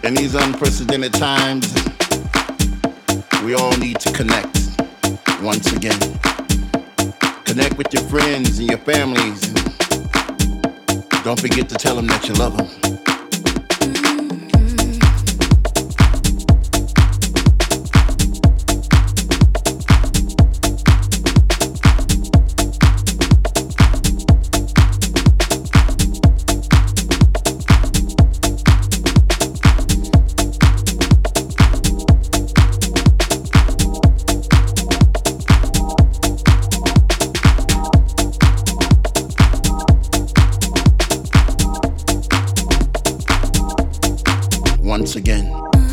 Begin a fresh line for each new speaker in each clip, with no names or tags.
In these unprecedented times, we all need to connect once again. Connect with your friends and your families. Don't forget to tell them that you love them. Once again.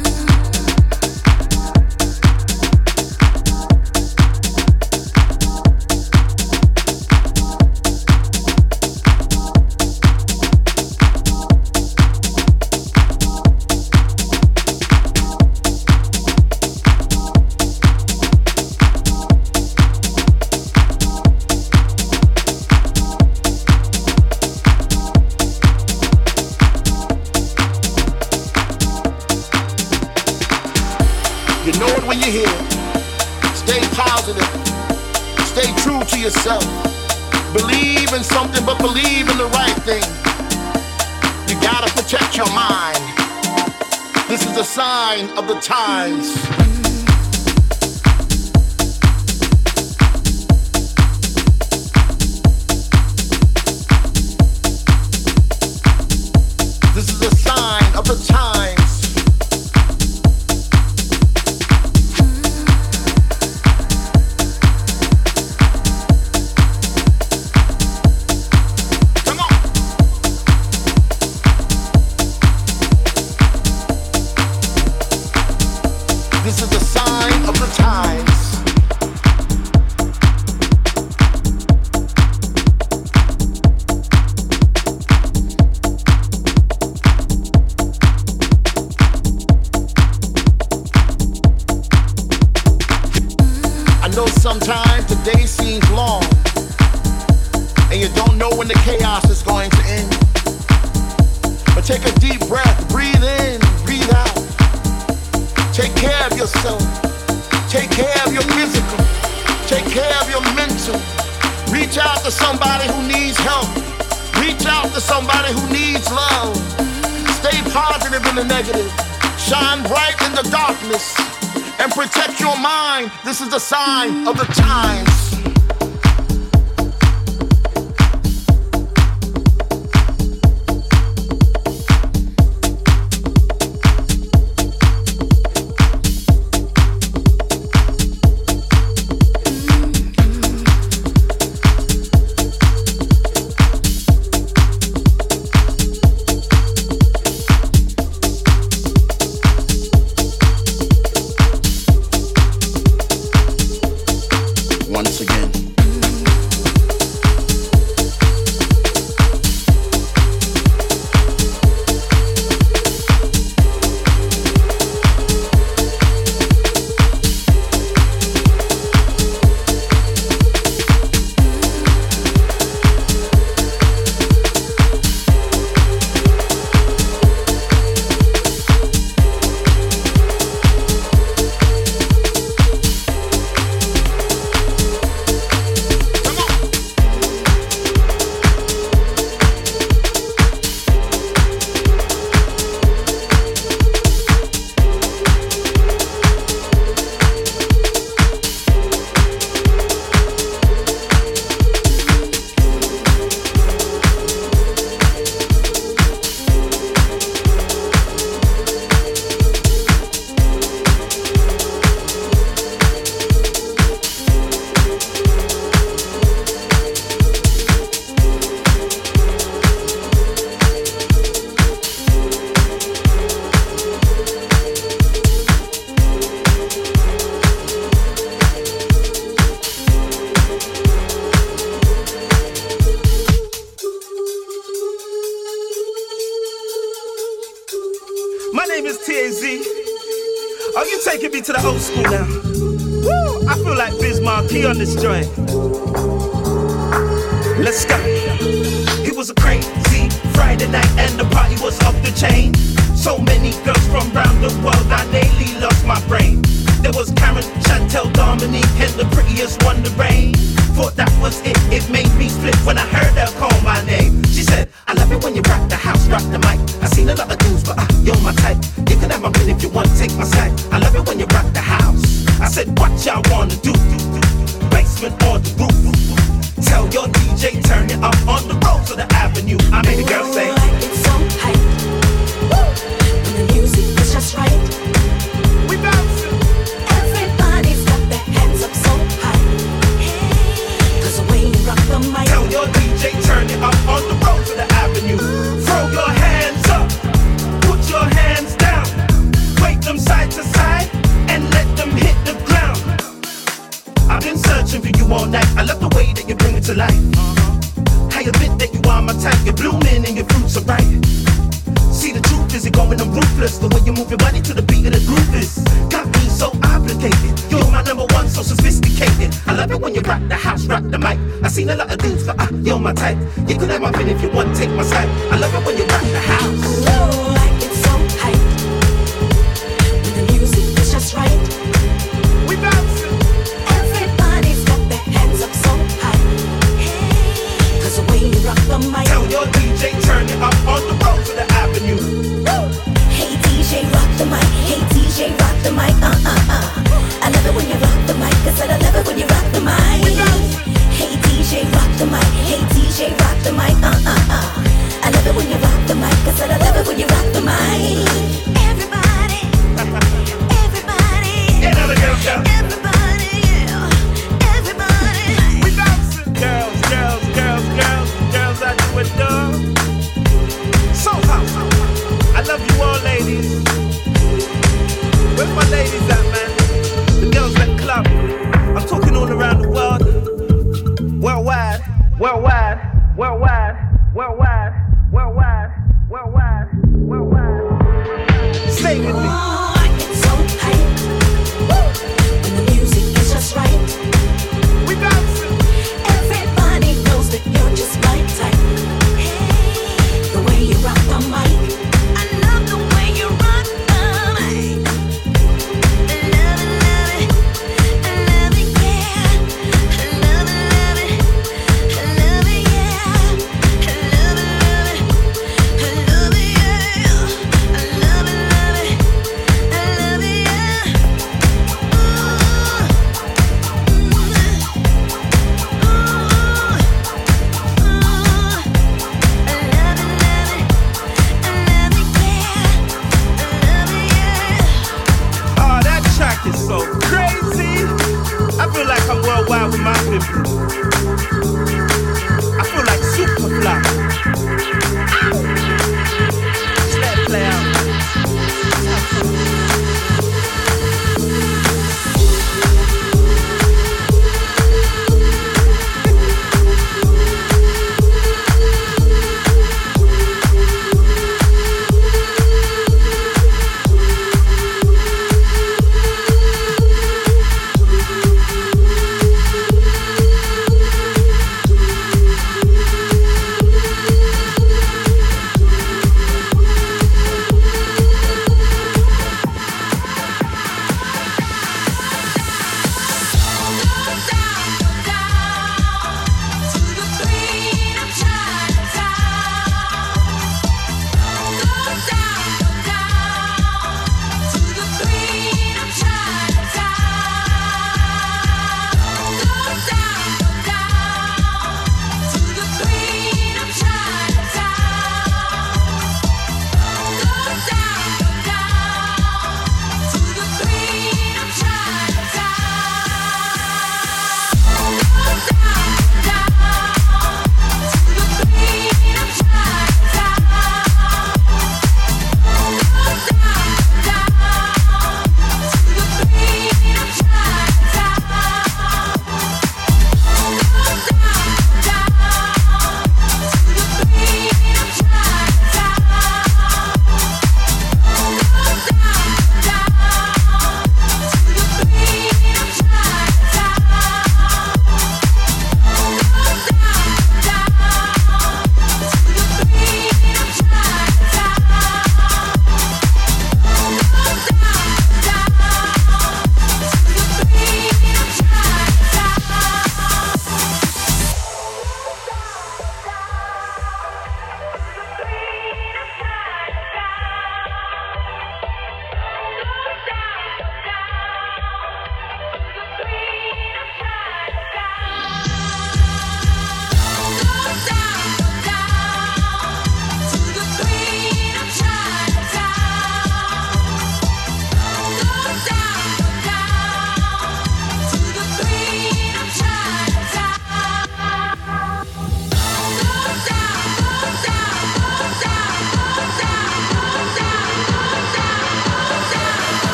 You know it when you hear it. Stay positive. Stay true to yourself. Believe in something, but believe in the right thing. You gotta protect your mind. This is a sign of the times. This is a sign of the times. This is a sign of the times. I know sometimes the day seems long, and you don't know when the chaos is going to end. But take a deep breath, breathe in, breathe out. Take care of yourself. Take care of your physical. Take care of your mental. Reach out to somebody who needs help. Reach out to somebody who needs love. Stay positive in the negative. Shine bright in the darkness. And protect your mind. This is the sign of the times. Once again.
My name is TAZ. Oh, you taking me to the old school now. Woo! I feel like Biz Markie on this joint. Let's go. It was a crazy Friday night and the party was was off the chain. So many girls from round the world, I daily lost my brain. There was Karen, Chantel, Dominique, and the prettiest one, Lorraine. Thought that was it, it made me flip when I heard her call my name. She said, I love it when you rock the house, rock the mic. I seen a lot of dudes, but you're my type. You can have my pen if you want, take my side. I love it when you rock the house. I said, what y'all wanna do? Basement on the roof. Tell your DJ, turn it up on the roads of the avenue. I made the girl say,
it's so hype. When the music is just right.
We bouncing.
Everybody's got their hands up so high. Cause the way you rock the mic.
Tell your DJ, turn it up on the roads of the avenue. Throw your hands up, put your hands down. Wave them side to side and let them hit the ground. I've been searching for you all night. I love the way that you bring it to life. I admit that you are my type. You're blooming and your fruits are ripe. See, the truth is you're going on ruthless. The way you move your body to the beat of the groove is got me so obligated. You're my number one, so sophisticated. I love it when you rock the house, rock the mic. I seen a lot of dudes, but you're my type. You could have my pen if you want, take my side. I love it when you rock the house.
Oh, like it's so hype. When the music is just right.
We bouncing.
Everybody's got their hands up so high. Cause the way you rock the mic.
Tell your DJ, turn it up on the roads of the avenue.
Hey DJ, rock the mic. Hey DJ, rock the mic. I love it when you rock the mic. I said I love it when you rock the mic. Hey DJ, rock the mic. Hey DJ, rock the mic. I love it when you rock the mic. I said I love it when you rock the mic. Everybody, everybody,
Yeah, now the girls go.
everybody, yeah, everybody.
We bouncing. Girls, girls, girls, girls, girls out the window. So hot. I love you all, ladies. Where's my ladies at, man? The girls that club. I'm talking all around the world. Worldwide, worldwide, worldwide, worldwide, worldwide, worldwide, worldwide. Stay with me.
Oh, it's so hype. When the music is just right.
We bouncing.
Everybody knows that you're just my type. The way you rock the mic. I love the way you rock the mic. I love it, love it. I love it, yeah. I love it, love it. I love it, yeah. I love it,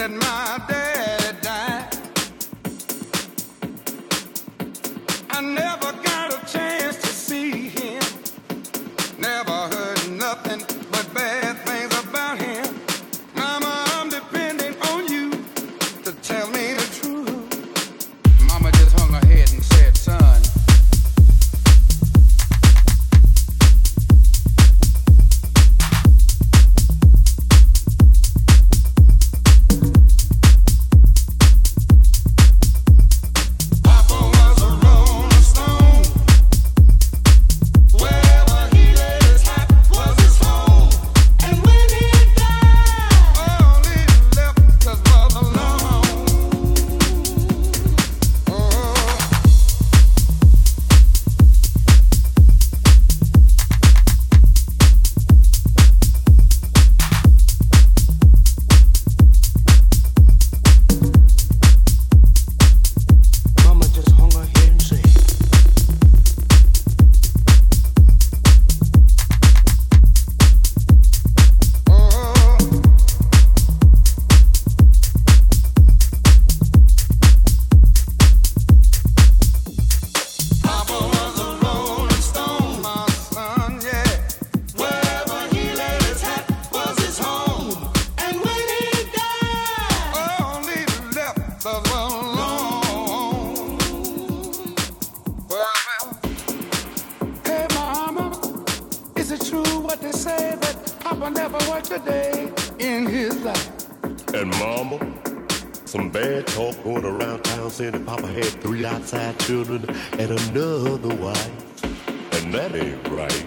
Children and another wife, and that ain't right.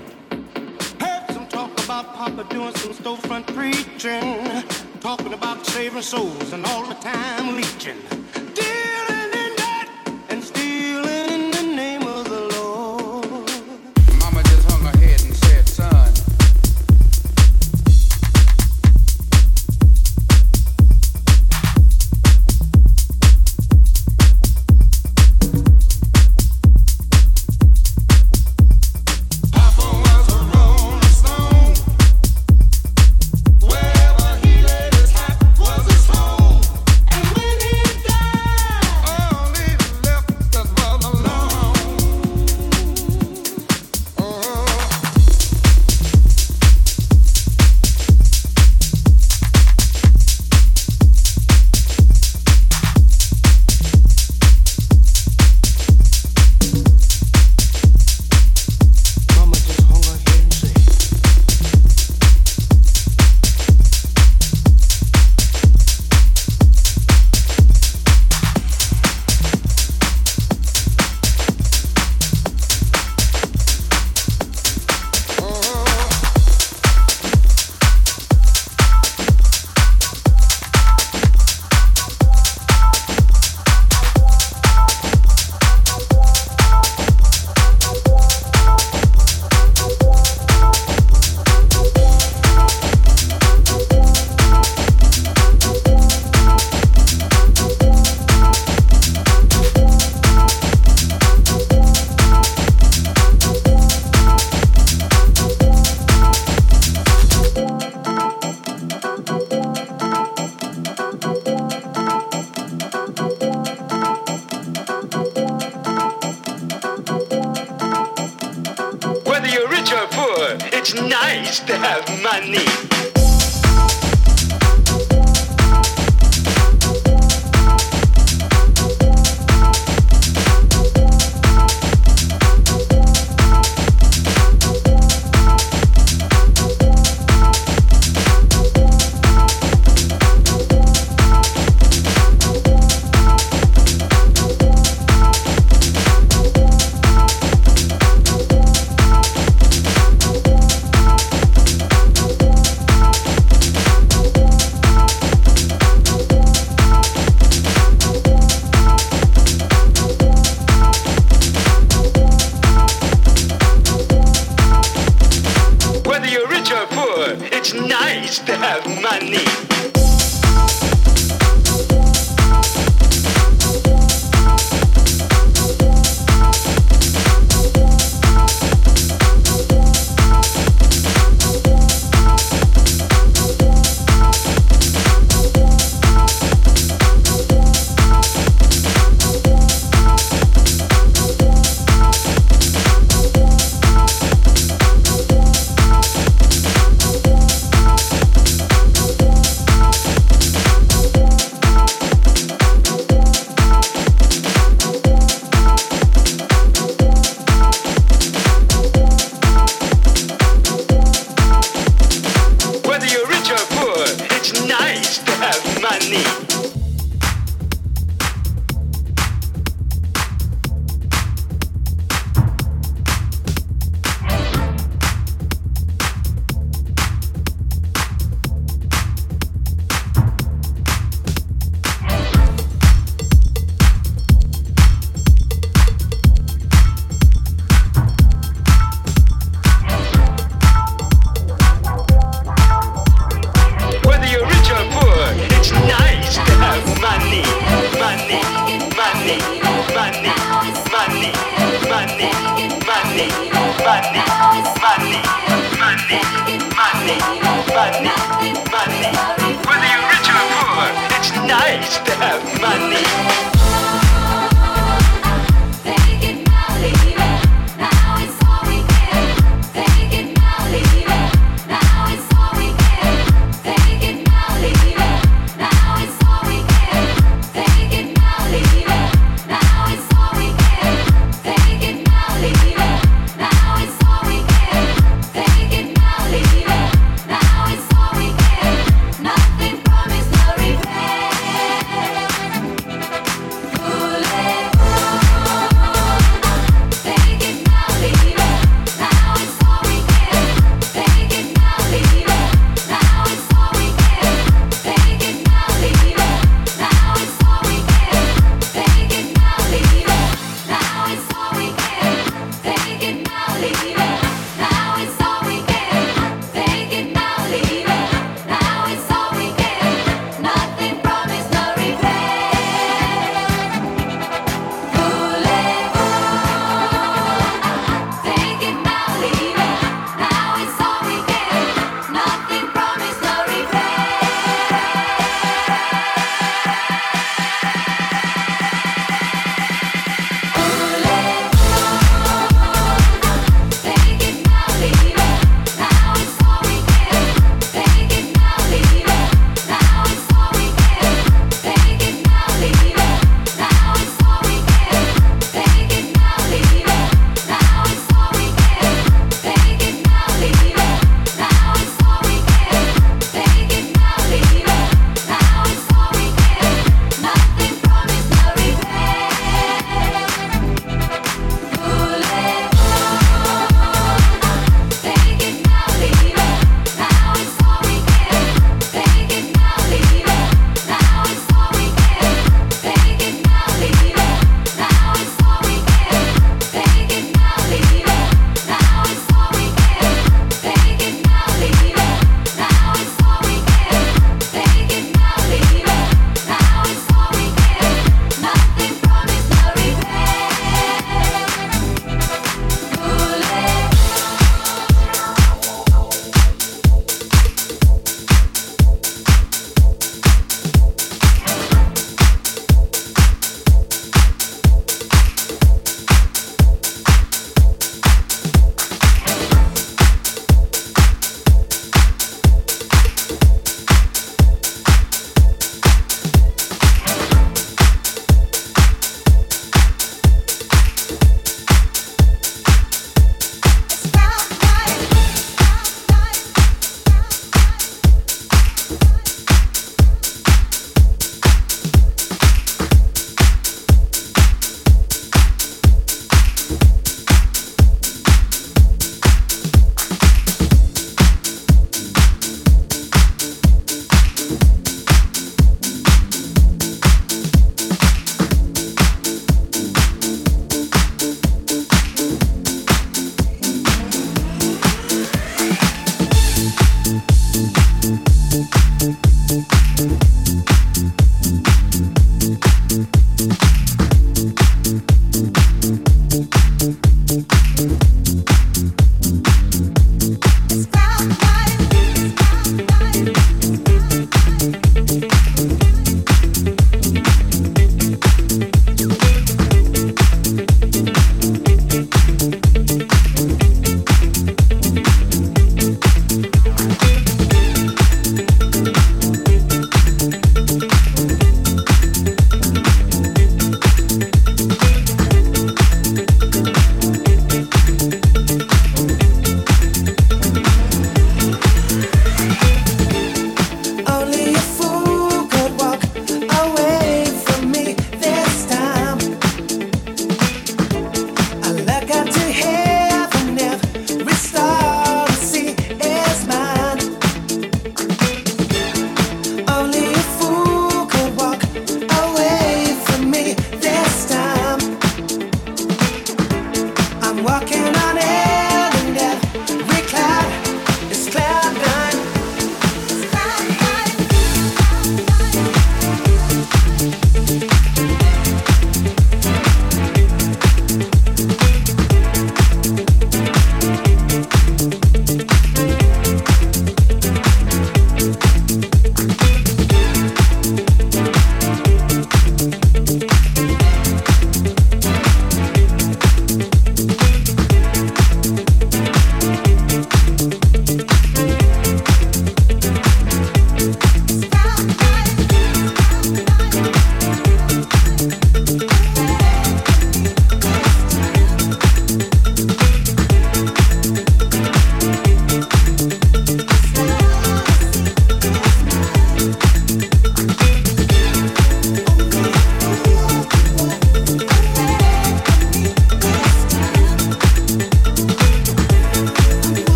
Heard some talk about Papa doing some storefront preaching, talking about saving souls and all the time leeching, dealing in that and stealing in the name of the Lord.
Mama just hung her head and said, son,
It's nice to have money. money, money, money. Whether you're rich or poor, it's nice to have money.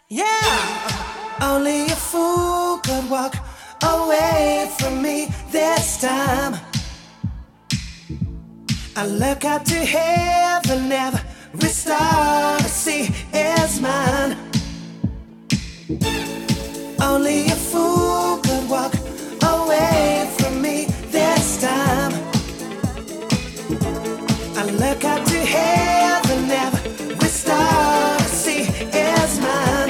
Yeah, only a fool could walk away from me this time. I look up to heaven, every star I see is mine. Only a fool could walk away from me this time. I look up to heaven, every star I see is mine.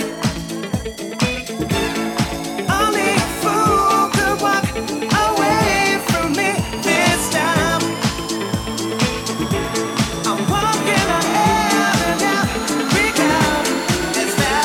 Only a fool could walk away from me this time. I'm walking on heaven, every cloud is that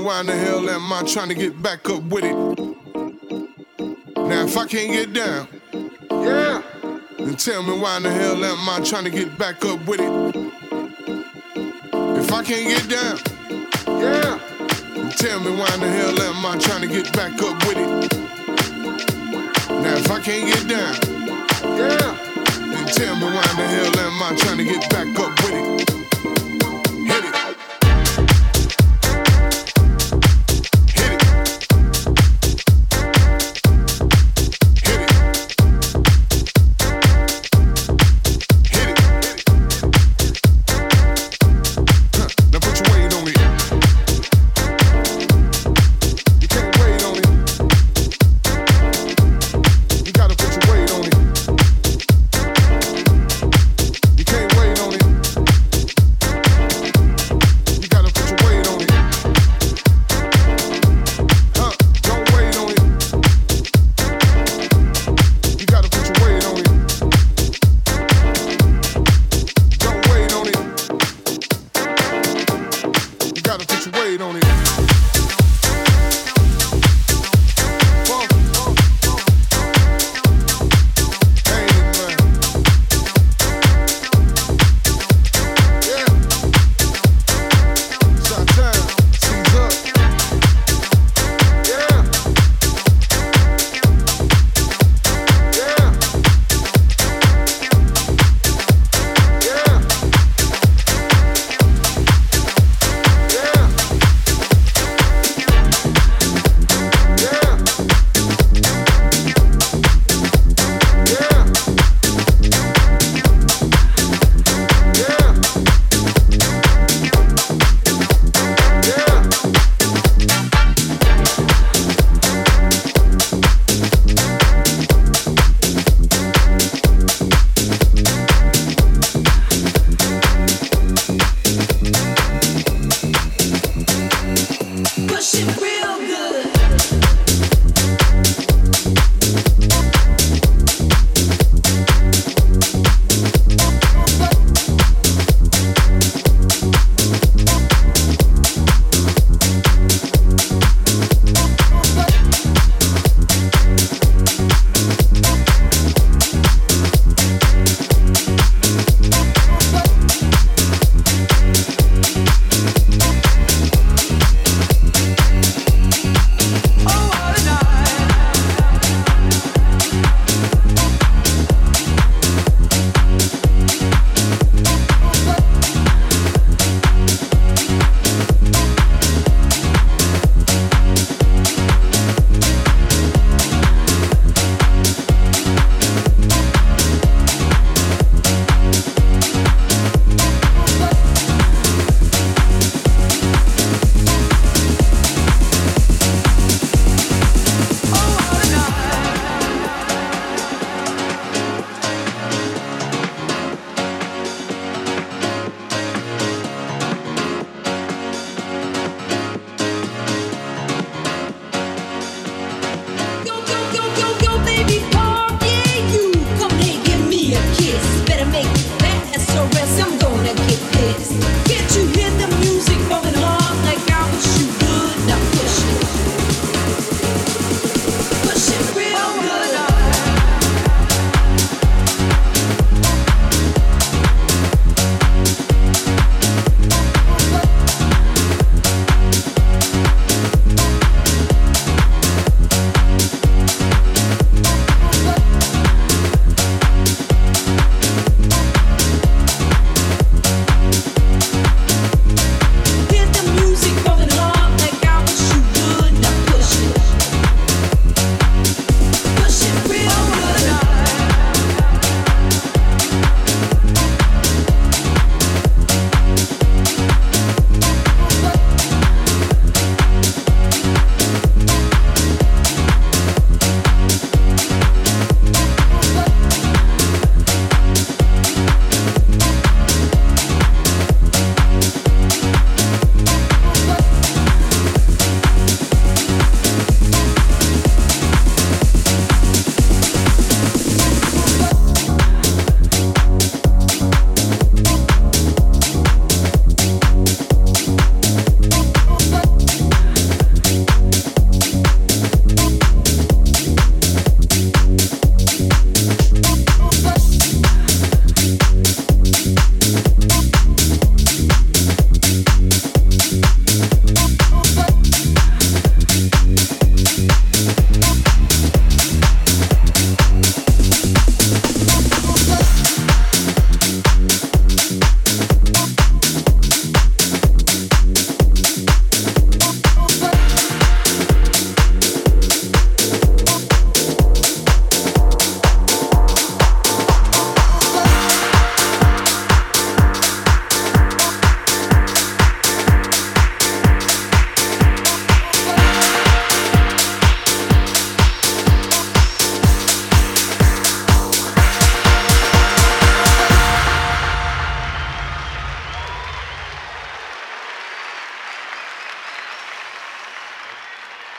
why in the hell am I trying to get back up with it? Now if I can't get down, yeah, then tell me why in the hell am I trying to get back up with it? If I can't get down, yeah, then tell me why in the hell am I trying to get back up with it? Now if I can't get down, yeah, then tell me why in the hell am I trying to get back up with it? Hit it.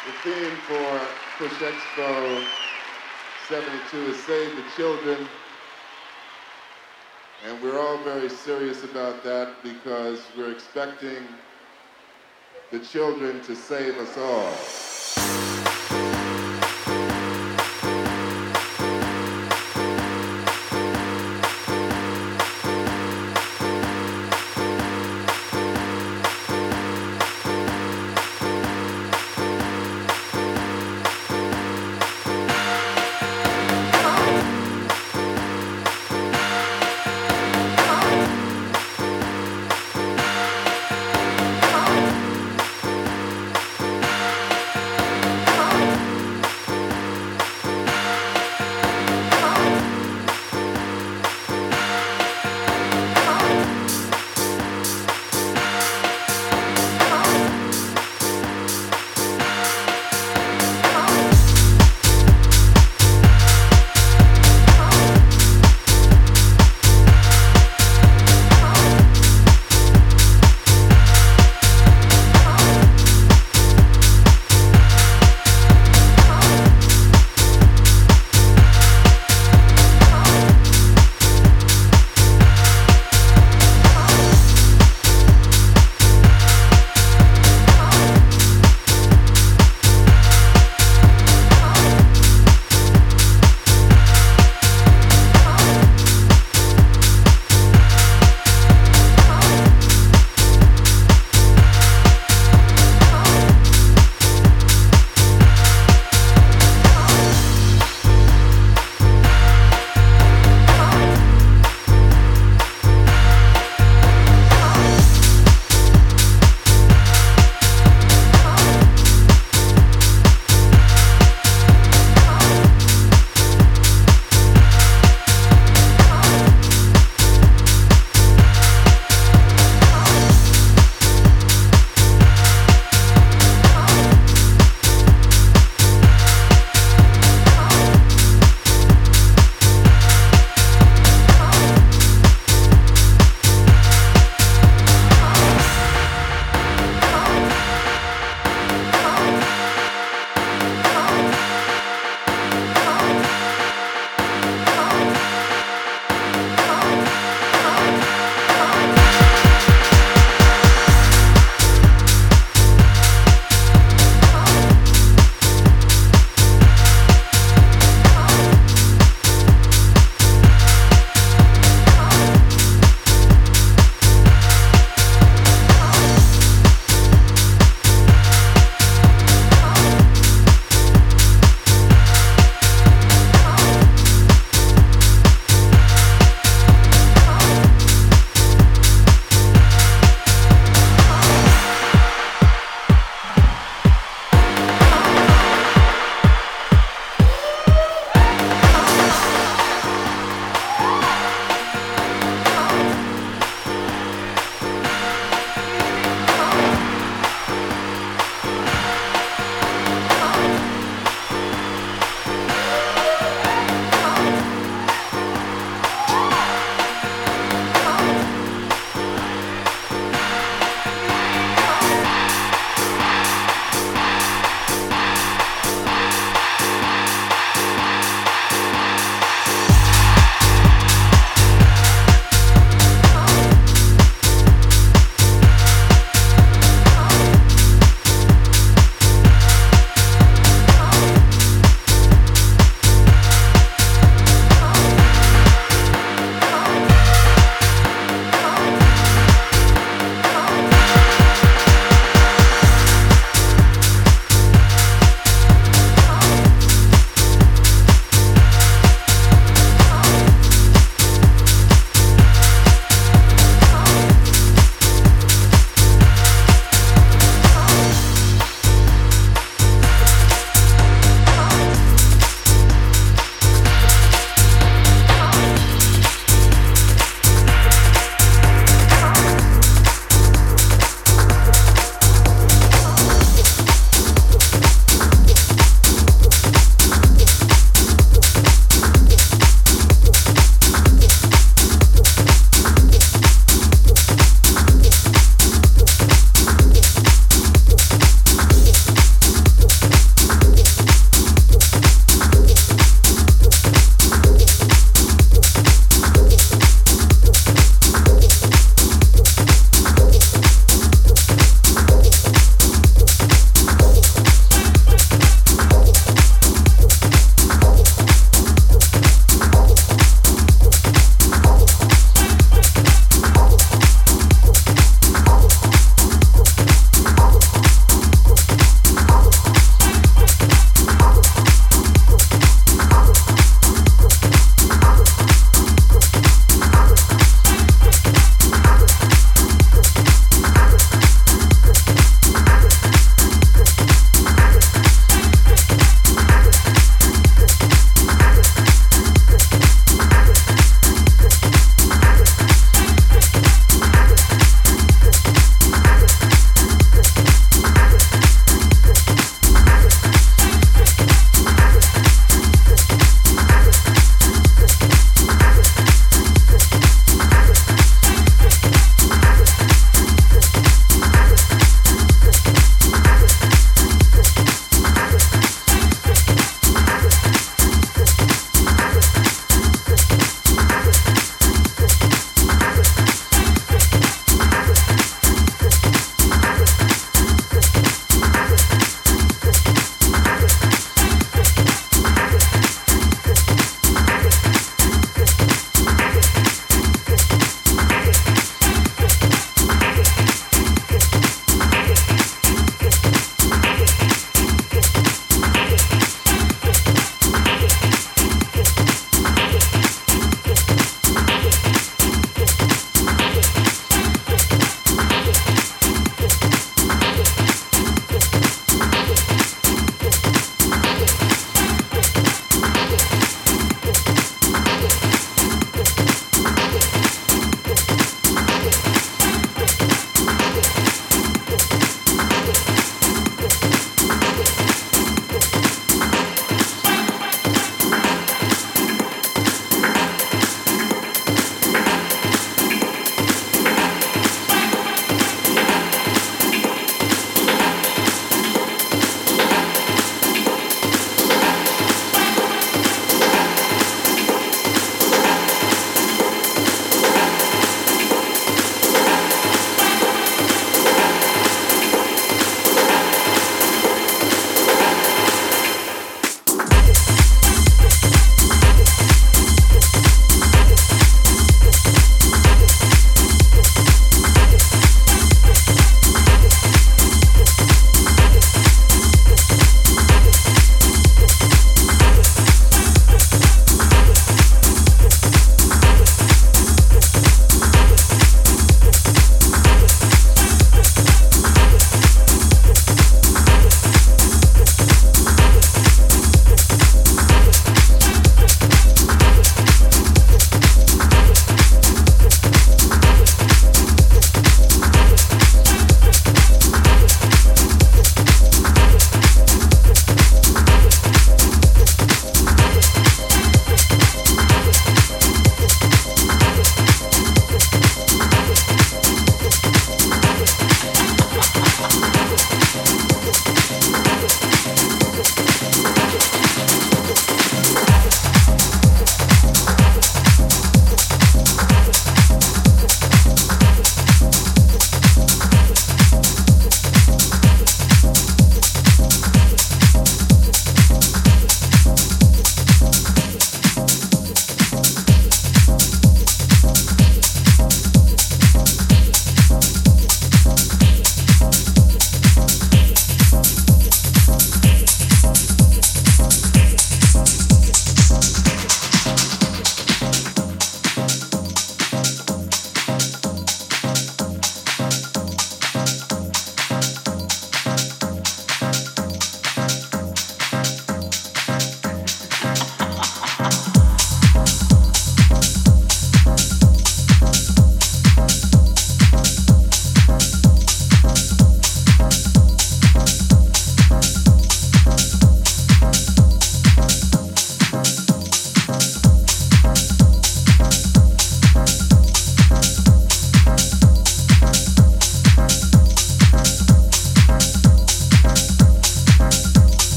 The theme for Push Expo 72 is Save the Children. And we're all very serious about that because we're expecting the children to save us all.